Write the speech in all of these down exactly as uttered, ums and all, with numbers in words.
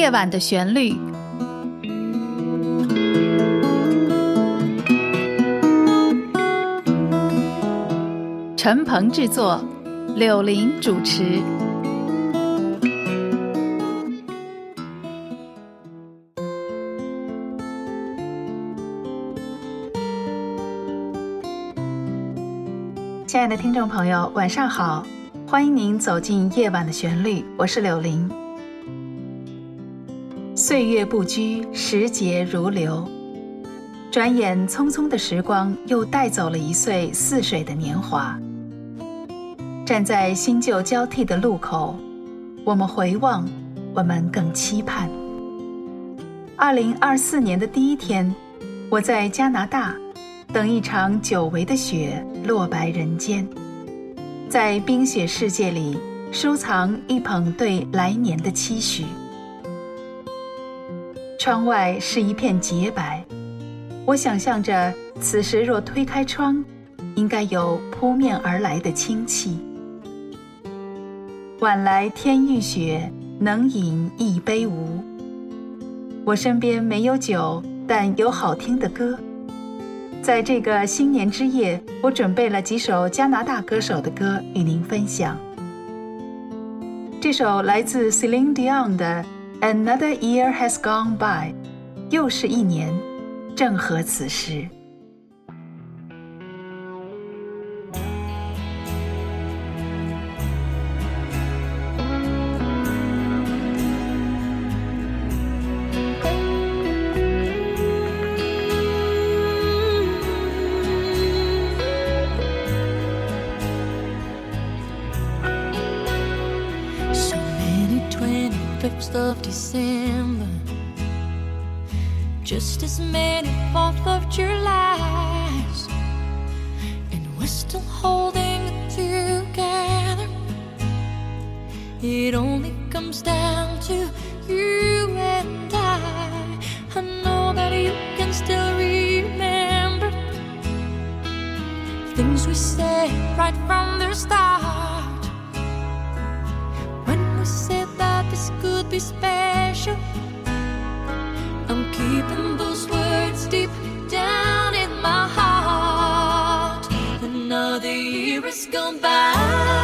夜晚的旋律。陈鹏制作，柳林主持。亲爱的听众朋友，晚上好，欢迎您走进夜晚的旋律，我是柳林。岁月不居，时节如流，转眼匆匆的时光又带走了一岁似水的年华。站在新旧交替的路口，我们回望，我们更期盼。二零二四年的第一天，我在加拿大等一场久违的雪落白人间，在冰雪世界里收藏一捧对来年的期许。窗外是一片洁白，我想象着此时若推开窗，应该有扑面而来的清气。晚来天欲雪，能饮一杯无？我身边没有酒，但有好听的歌。在这个新年之夜，我准备了几首加拿大歌手的歌与您分享。这首来自 Celine Dion 的 Another Year Has Gone By， 又是一年，正合此时。 twenty-fifth of December, just as many fourth of Julys, and we're still holding it together. It only comes down to you and I. I know that you can still remember things we said right from the start, when we said that this could be special. I'm keeping those words deep down in my heart. Another year has gone by,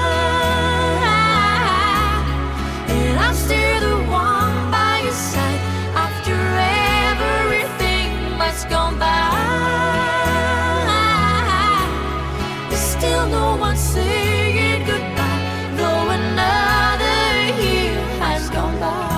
and I'm still the one by your side after everything that's gone by. There's still no one saying goodbye, though another year has gone by.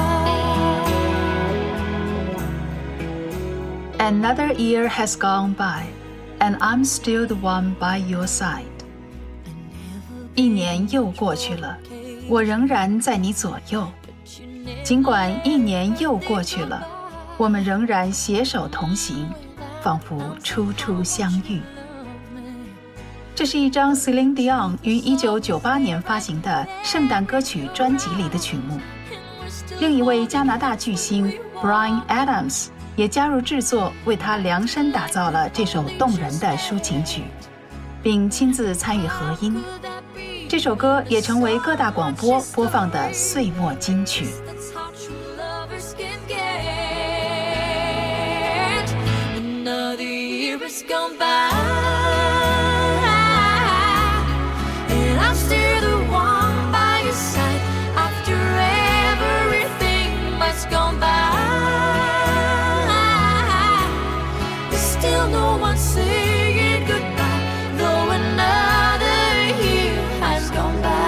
Another year has gone by, and I'm still the one by your side. 一年又过去了，我仍然在你左右。尽管一年又过去了，我们仍然携手同行，仿佛初初相遇。这是一张 Celine Dion 于一九九八年发行的圣诞歌曲专辑里的曲目。另一位加拿大巨星 Bryan Adams 也加入制作，为他量身打造了这首动人的抒情曲，并亲自参与和音。这首歌也成为各大广播播放的岁末金曲。 Another year has gone by, and I'm still the one by your side after everything that's gone by. There's still no one saying goodbye, though another year has gone by.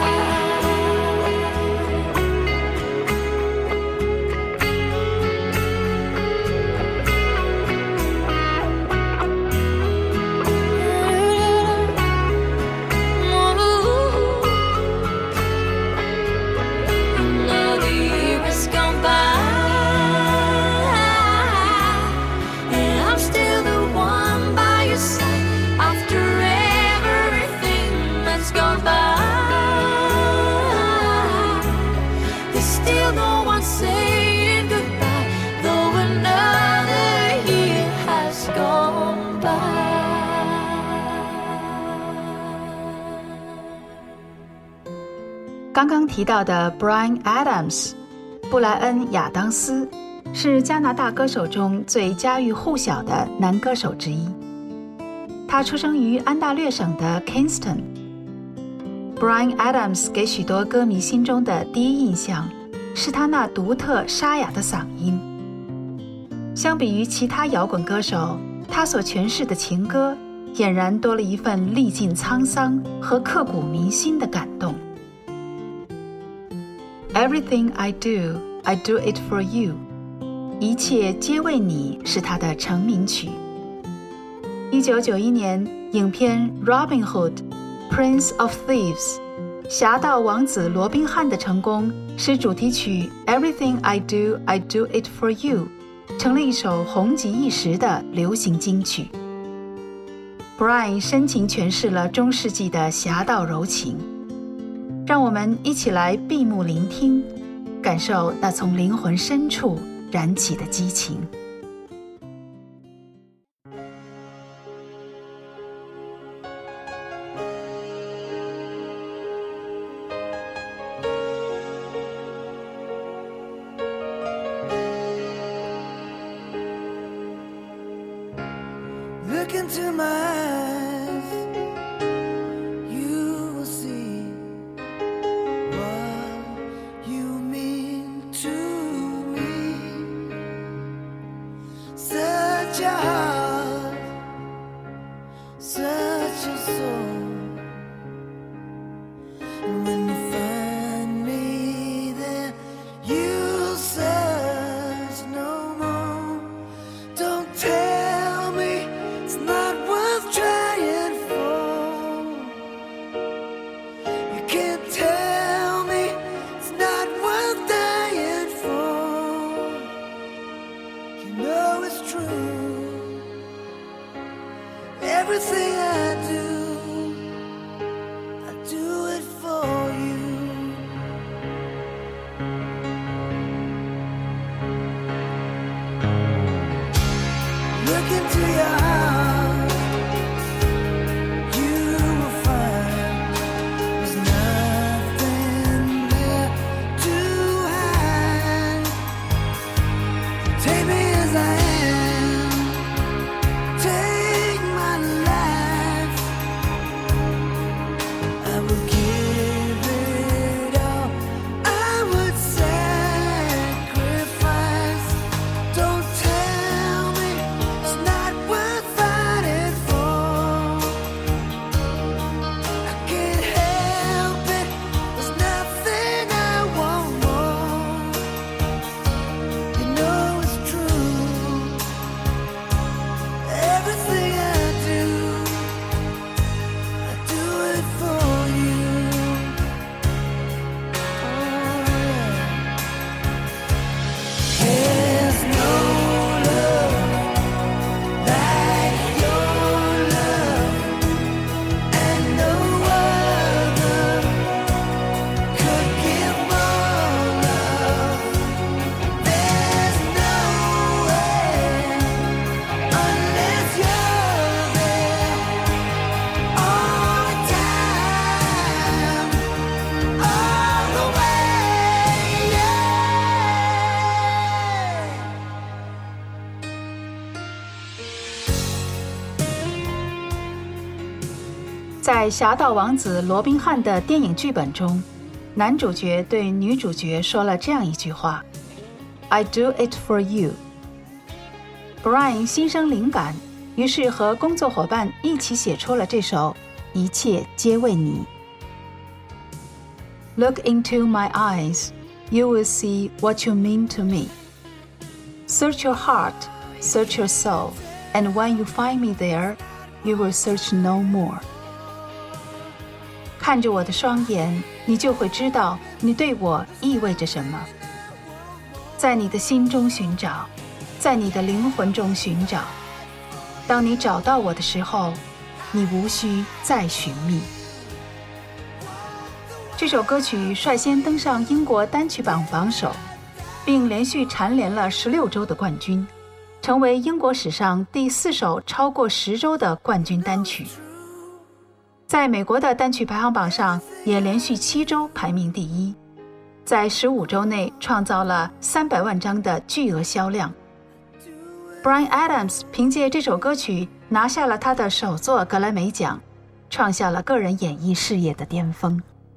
Saying goodbye, though another year has gone by. 刚刚提到的 Bryan Adams 布莱恩·亚当斯是加拿大歌手中最家喻户晓的男歌手之一。他出生于安大略省的 Kingston。Bryan Adams 给许多歌迷心中的第一印象是他那独特沙哑的嗓音。相比于其他摇滚歌手，他所诠释的情歌俨然多了一份历尽沧桑和刻骨铭心的感动。Everything I do, I do it for you. 一切皆为你是他的成名曲。一九九一年，影片 Robin Hood, Prince of Thieves 侠盗王子罗宾汉的成功，使主题曲 Everything I do, I do it for you 成了一首红极一时的流行金曲。Bryan 深情诠释了中世纪的侠盗柔情，让我们一起来闭目聆听，感受那从灵魂深处燃起的激情。 Look into my eyes, you will see what you mean to me. Such a heart, such a soul. And when you find me there, you'll search no more. Don't tell me it's not worth trying for. You can't tell me it's not worth dying for. You know it's true. Everything I do, I do it for you. Look into your heart, you will find there's nothing there to hide. Take me as I am, take my life. I will give it all, I would sacrifice. Don't tell me it's not worth fighting for. I can't help it, there's nothing I want more. You know it's true. Everything I do, I do it for you. Oh, yeah. There's no love like your love, and no other could give more love. There's nowhere unless you're there all the time, all the way, yeah. 在侠盗王子罗宾汉的电影剧本中，男主角对女主角说了这样一句话 I do it for you。 Bryan 心生灵感，于是和工作伙伴一起写出了这首一切皆为你。 Look into my eyes, you will see what you mean to me. Search your heart, search your soul, and when you find me there, you will search no more. 看着我的双眼，你就会知道你对我意味着什么。在你的心中寻找，在你的灵魂中寻找。当你找到我的时候，你无需再寻觅。这首歌曲率先登上英国单曲榜榜首，并连续蝉联了十六周的冠军，成为英国史上第四首超过十周的冠军单曲。在美国的单曲排行榜上也连续七周排名第一。 在十五周内创造了三百万张的巨额销量。Bryan Adams 凭借这首歌曲拿下了他的首座格莱美奖，创下了个人演艺事业的巅峰。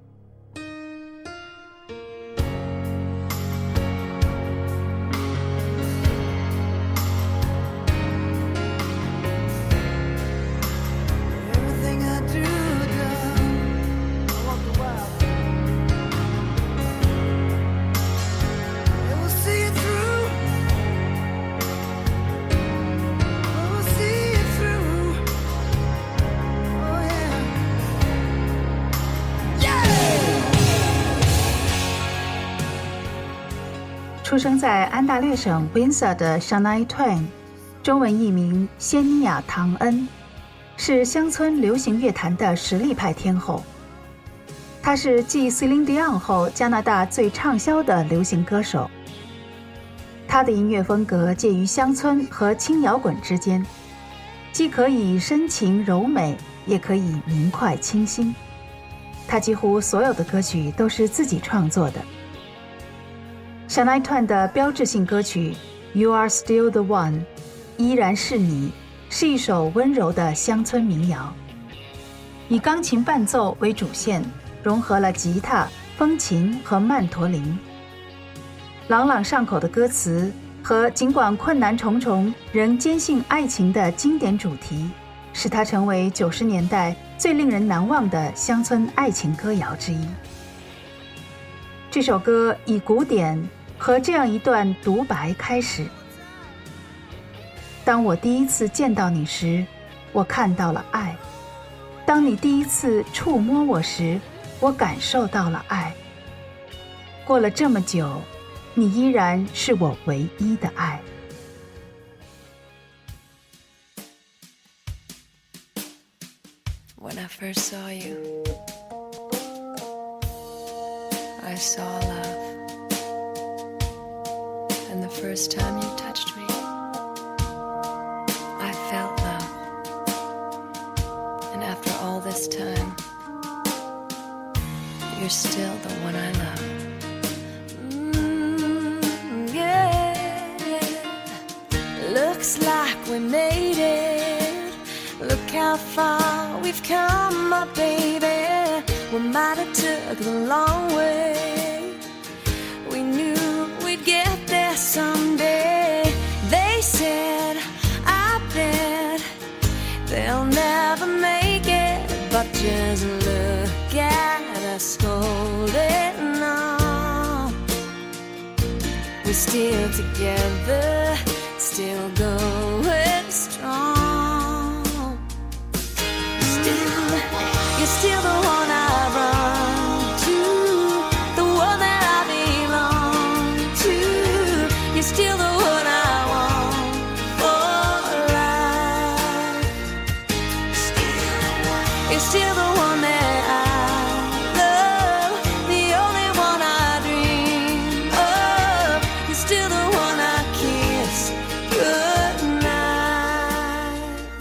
出生在安大略省 Windsor 的 Shania Twain， 中文译名仙妮亚·唐恩，是乡村流行乐坛的实力派天后。她是继 Celine Dion 后加拿大最畅销的流行歌手。她的音乐风格介于乡村和轻摇滚之间，既可以深情柔美，也可以明快清新。她几乎所有的歌曲都是自己创作的。Shania Twain 的标志性歌曲 You Are Still the One 依然是你，是一首温柔的乡村民谣，以钢琴伴奏为主线，融合了吉他、风琴和曼陀林。朗朗上口的歌词和尽管困难重重仍坚信爱情的经典主题，使它成为九十年代最令人难忘的乡村爱情歌谣之一。这首歌以鼓点和这样一段独白开始：当我第一次见到你时，我看到了爱；当你第一次触摸我时，我感受到了爱。过了这么久，你依然是我唯一的爱。 When I first saw you, I saw love. And the first time you touched me, I felt love. And after all this time, you're still the one I love. Mm, yeah. Looks like we made it. Look how far we've come, my baby. We might have took the long way. We knew we'd get there someday. They said, I bet they'll never make it. But just look at us holding on. We're still together, still going strong. Still, you're still the one I run to, the one that I belong to. You're still the one I want for life. You're still the one that I love, the only one I dream of. You're still the one I kiss goodnight.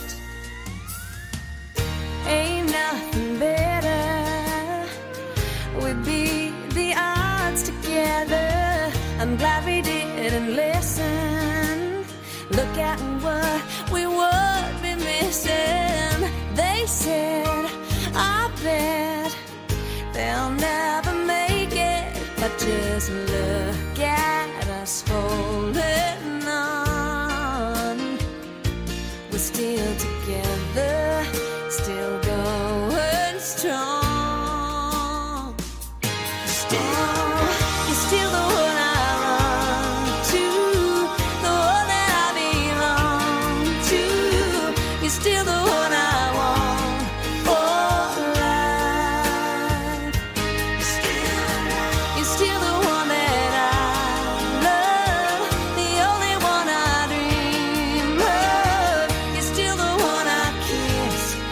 Ain't nothing better. We beat the odds together. I'm glad we didn't listen. Look at what we would be missing. They said, I bet they'll never make it. But just look at us holding on. We're still together, still going strong. Still, you're still the one I run to, the one that I belong to. You're still the one I want for life. You're still the one that I love, the only one I dream of. You're still the one I kiss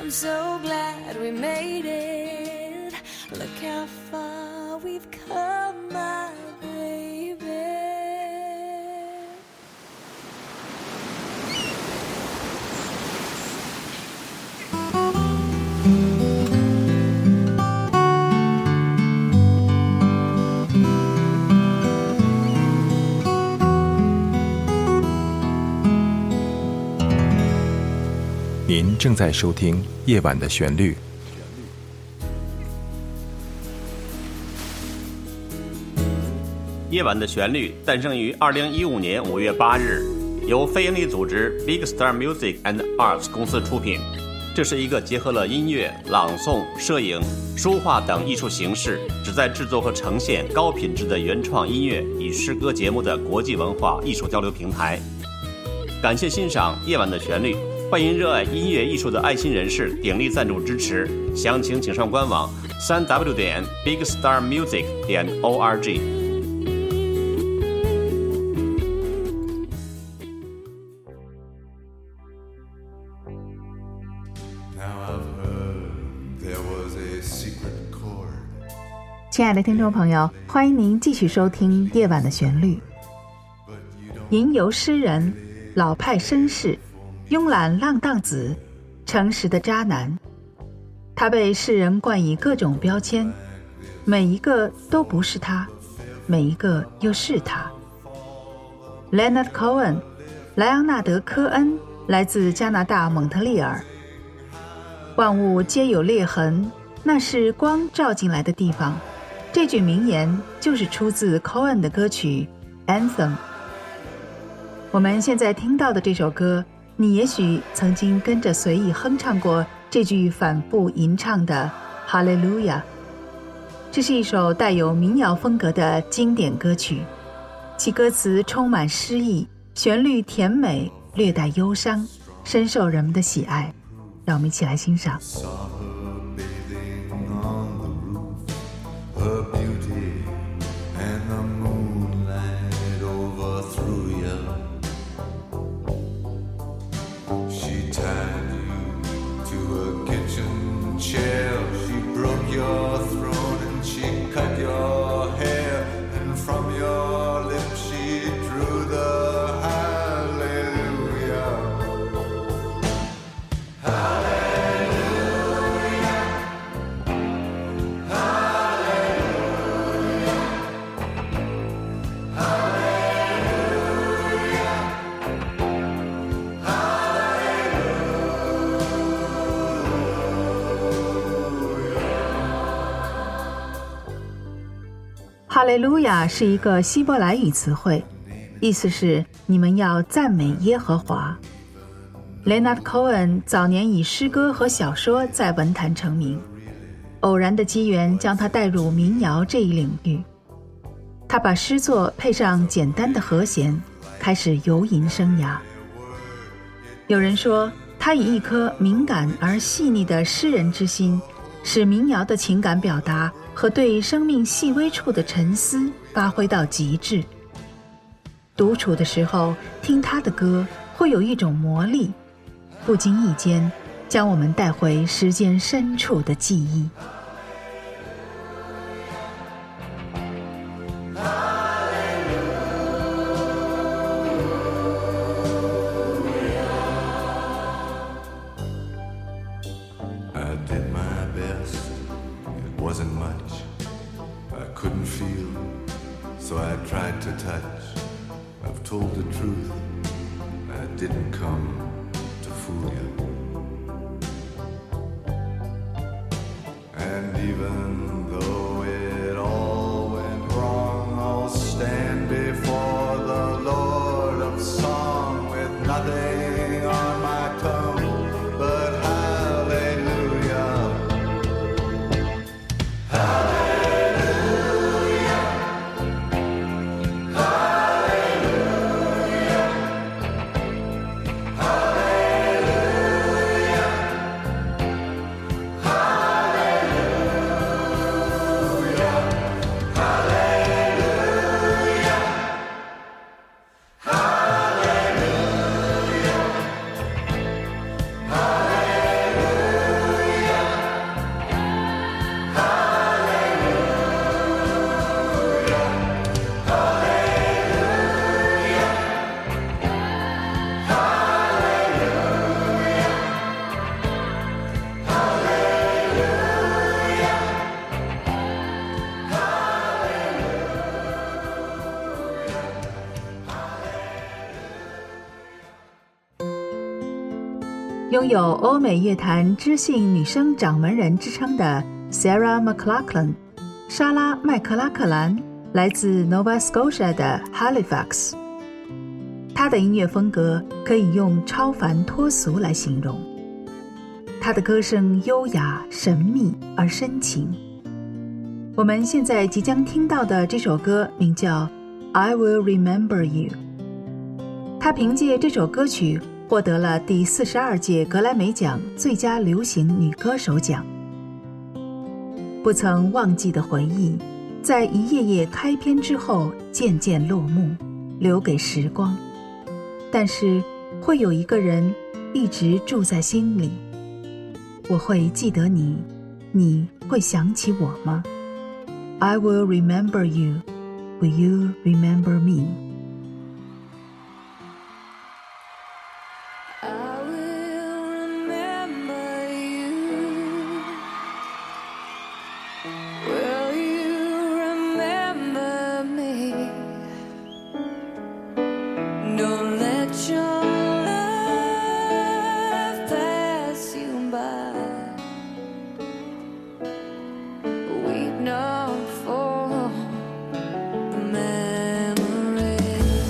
I'm so glad we made it. Look how far we've come, my baby. 您正在收听《夜晚的旋律》。 夜晚的旋律诞生于二零一五年五月八日，由非营利组织 Big Star Music and Arts 公司出品。这是一个结合了音乐、朗诵、摄影、书画等艺术形式，旨在制作和呈现高品质的原创音乐与诗歌节目的国际文化艺术交流平台。感谢欣赏《夜晚的旋律》。欢迎热爱音乐艺术的爱心人士鼎力赞助支持，详情请上官网 三 w 点 big star music 点 org。 亲爱的听众朋友，欢迎您继续收听《夜晚的旋律》。吟游诗人，老派绅士，慵懒浪荡子，诚实的渣男，他被世人冠以各种标签，每一个都不是他，每一个又是他。Leonard Cohen， 莱昂纳德·科恩，来自加拿大蒙特利尔。万物皆有裂痕，那是光照进来的地方。这句名言就是出自 Cohen 的歌曲 Anthem。 我们现在听到的这首歌，你也许曾经跟着随意哼唱过这句反复吟唱的哈利路亚。这是一首带有民谣风格的经典歌曲，其歌词充满诗意，旋律甜美，略带忧伤，深受人们的喜爱。让我们一起来欣赏。 Her beauty and the moonlight overthrew you. She tied you to a kitchen chair. She broke your throat and she cut your hair. And from your lips she drew the hallelujah. Hallelujah. 哈利路亚是一个希伯来语词汇，意思是你们要赞美耶和华。Leonard Cohen 早年以诗歌和小说在文坛成名，偶然的机缘将他带入民谣这一领域。他把诗作配上简单的和弦，开始游吟生涯。有人说，他以一颗敏感而细腻的诗人之心，使民谣的情感表达和对生命细微处的沉思发挥到极致。独处的时候听他的歌，会有一种魔力，不经意间将我们带回时间深处的记忆。 Wasn't much I couldn't feel, so I tried to touch. I've told the truth, I didn't come to fool you. And even though it all went wrong, I'll stand before the Lord of song with nothing on my tongue but hallelujah. Hallelujah. Hallelujah. 拥有欧美乐坛知性女声掌门人之称的 Sarah McLachlan 莎拉·麦克拉克兰来自 Nova Scotia 的 Halifax。 她的音乐风格可以用超凡脱俗来形容，她的歌声优雅、神秘而深情。我们现在即将听到的这首歌名叫 I Will Remember You。 她凭借这首歌曲获得了第四十二届格莱美奖最佳流行女歌手奖。不曾忘记的回忆，在一页页开篇之后渐渐落幕，留给时光。但是会有一个人一直住在心里，我会记得你，你会想起我吗？ I will remember you, will you remember me? I will remember you. Will you remember me? Don't let your love pass you by. Weep not for the memories.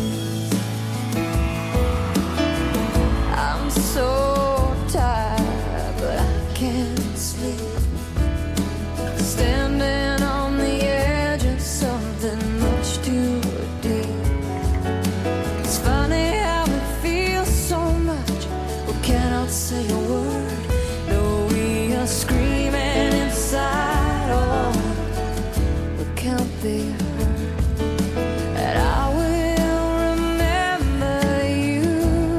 I'm so tired, but I can't sleep. Standing on the edge of something much too deep. It's funny how it feels so much. We cannot say a word. No, we are screaming inside. Oh, we can't be heard. And I will remember you.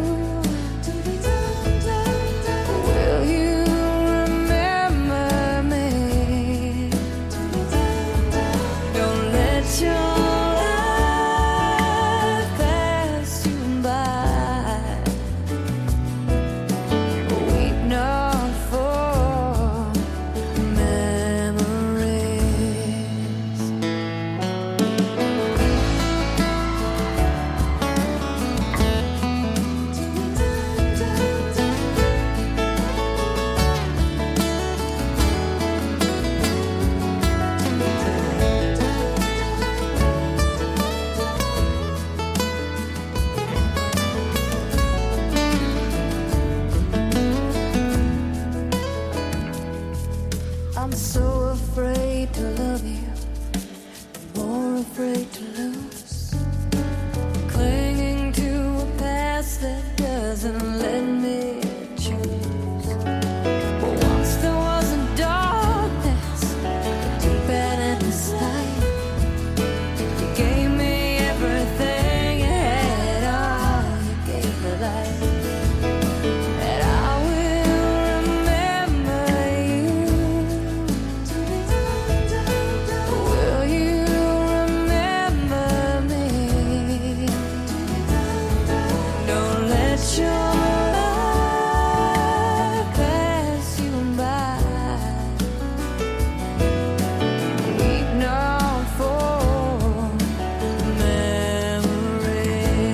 Will you remember me? Don't let your life pass you by. Weep not for memories. I'm so afraid to love you, more afraid to lose, clinging to a past that doesn't let me choose. But once there was a darkness, a deep and endless night. You gave me everything you had, all you gave me life. And I will remember you. Will you remember me? Don't let your life pass you by. Weep not for memories.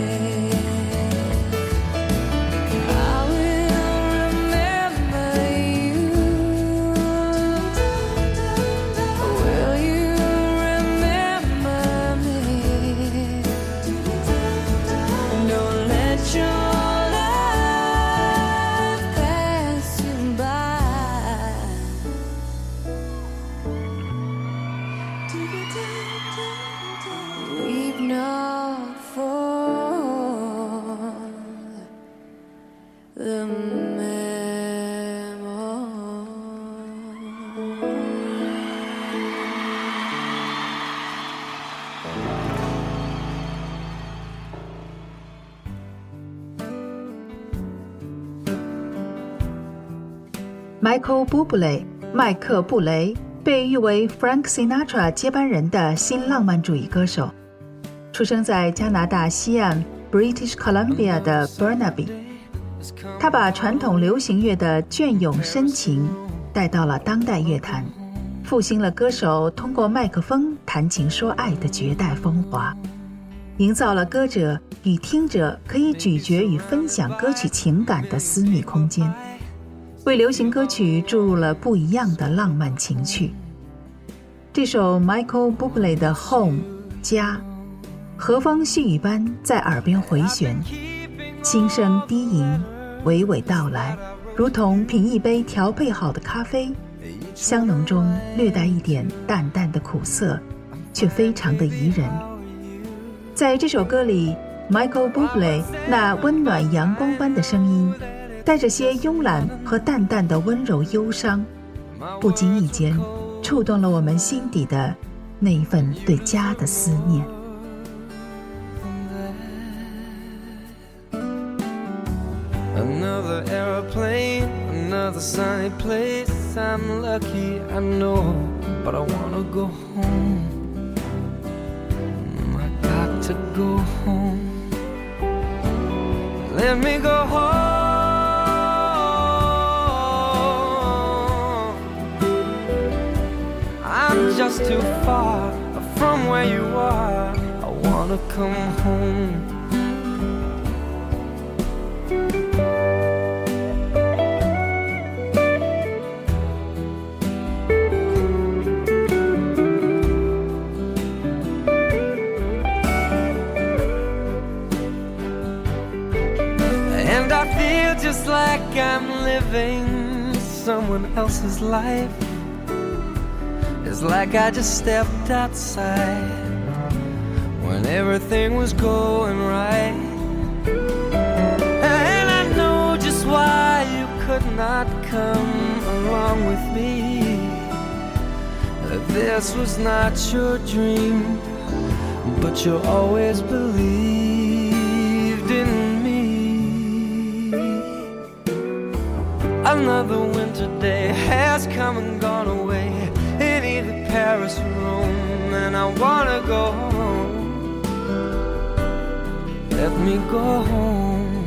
I will remember you. Will you remember me? Don't let your life pass you by. Weep not for the Michael Bublé 麦克布雷被誉为 Frank Sinatra 接班人的新浪漫主义歌手，出生在加拿大西岸 British Columbia 的 Burnaby。他把传统流行乐的隽永深情带到了当代乐坛，复兴了歌手通过麦克风谈情说爱的绝代风华，营造了歌者与听者可以咀嚼与分享歌曲情感的私密空间。 为流行歌曲注入了不一样的浪漫情趣。这首 Michael Bublé 的 Home 家，和风细雨般在耳边回旋，轻声低吟，娓娓道来，如同品一杯调配好的咖啡，香浓中略带一点淡淡的苦涩，却非常的宜人。在这首歌里， Michael Bublé 那温暖阳光般的声音，带着些慵懒和淡淡的温柔忧伤，不经意间触动了我们心底的那一份对家的思念。 Another airplane, another sunny place. I'm lucky, I know, but I wanna go home. I got to go home. Let me go home. I'm just too far from where you are. I wanna come home. And I feel just like I'm living someone else's life. It's like I just stepped outside when everything was going right. And I know just why you could not come along with me. This was not your dream, but you always believed in me. Another winter day has come and gone away in either Paris or Rome, and I wanna go home. Let me go home.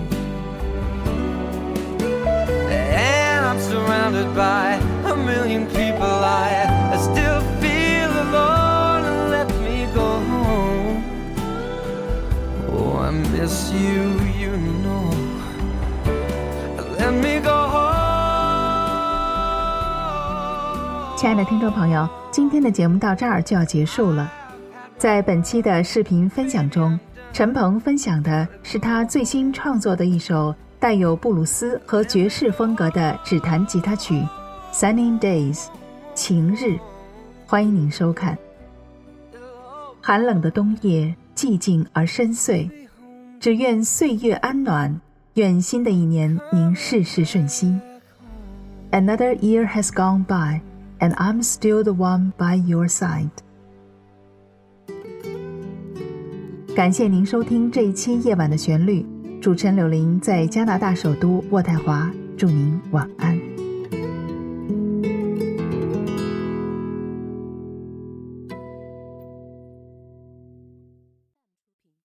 And I'm surrounded by a million people. I, I still feel alone. Let me go home. Oh, I miss you, you know. Let me go home. 亲爱的听众朋友，今天的节目到这儿就要结束了。在本期的视频分享中，陈鹏分享的是他最新创作的一首带有布鲁斯和爵士风格的指弹吉他曲 Sunny Days 晴日，欢迎您收看。寒冷的冬夜寂静而深邃，只愿岁月安暖，愿新的一年您事事顺心。 Another year has gone by and I'm still the one by your side。 感谢您收听这一期夜晚的旋律，主持人柳玲在加拿大首都渥太华，祝您晚安。